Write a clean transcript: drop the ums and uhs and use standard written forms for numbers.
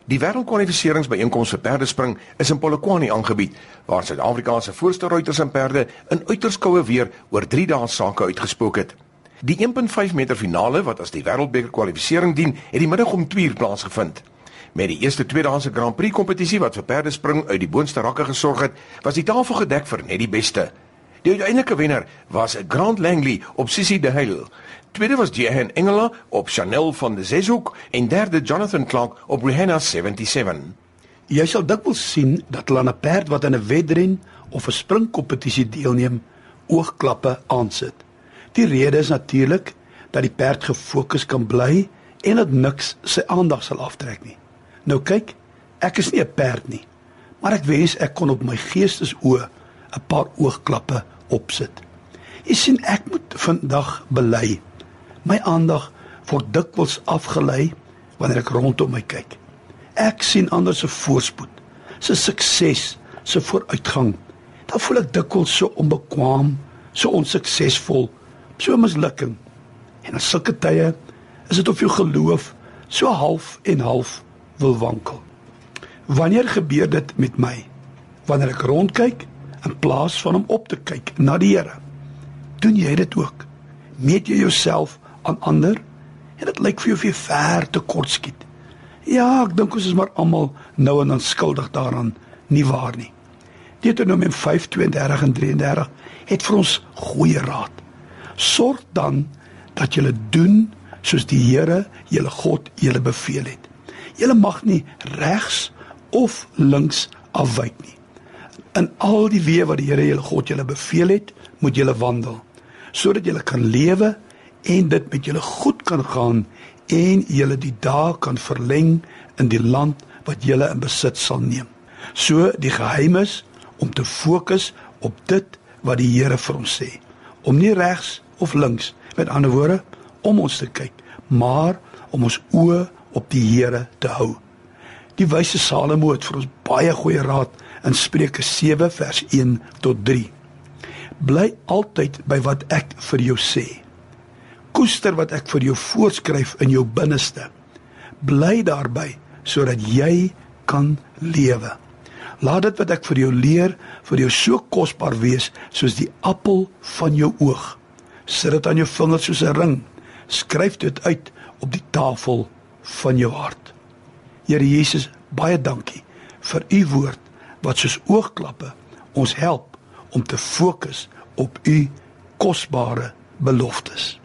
Die wêreldkwalifikasiebijeenkoms vir perdespring is in Polokwane aangebied, waar Suid-Afrika se voorste ruiters en perde in uiters koue weer oor 3 dae sake uitgespook het. Die 1.5 meter finale, wat as die wêreldbeker kwalifisering dien, het die middag om 2 uur plaasgevind. Met die eerste tweedaagse Grand Prix kompetisie wat vir perdespring uit die boonste rakke gesorg het, was die tafel gedek vir net die beste. Die uiteindelike wenner was Grant Langley op Sissie de Heil. Tweede was Jehan Engela op Chanel van de Zeshoek en derde Jonathan Clark op Rihanna 77. Jy sal dikwels sien dat hulle aan 'n perd wat in 'n wedren of 'n springkompetisie deelneem, oogklappe aansit. Die rede is natuurlik dat die perd gefokus kan bly en dat niks sy aandag sal aftrek nie. Nou kyk, ek is nie 'n perd nie, maar ek wens ek kon op my geestesoë 'n paar oogklappe opsit. Jy sien, ek moet vandag bely. My aandag word dikwels afgelei wanneer ek rondom my kyk. Ek sien ander se voorspoed, se sukses, se vooruitgang. Dan voel ek dikwels so onbekwaam, so onsuksesvol, so mislukking. En in sulke tye is dit of jou geloof so half en half wil wankel. Wanneer gebeur dit met my? Wanneer ek rondkyk in plaas van om op te kyk na die Here. Doen jy dit ook? Meet jy jouself aan ander en dit lyk vir jou of jy ver te kort skiet. Ja, ek dink ons is maar almal nou en dan skuldig daaraan, nie waar nie. Deuteronomium 5:32 en 33 het vir ons goeie raad. Sorg dan dat julle doen soos die Here, julle God, julle beveel het. Julle mag nie regs of links afwyk nie. In al die weë wat die Here julle God julle beveel het, moet julle wandel, sodat julle kan lewe en dit met julle goed kan gaan en julle die dae kan verleng in die land wat julle in besit sal neem. So die geheim is om te fokus op dit wat die Here vir ons sê, om nie regs of links, met ander woorde, om ons te kyk, maar om ons oë op die Here te hou. Die wyse Salomo het vir ons baie goeie raad in Spreuke 7 vers 1 tot 3. Bly altyd by wat ek vir jou sê. Koester wat ek vir jou voorskryf in jou binneste. Bly daarby sodat jy kan lewe. Laat dit wat ek vir jou leer vir jou so kosbaar wees soos die appel van jou oog. Sit dit aan jou vinger soos 'n ring. Skryf dit uit op die tafel van jou hart. Here Jesus, baie dankie vir u woord wat soos oogklappe ons help om te fokus op u kosbare beloftes.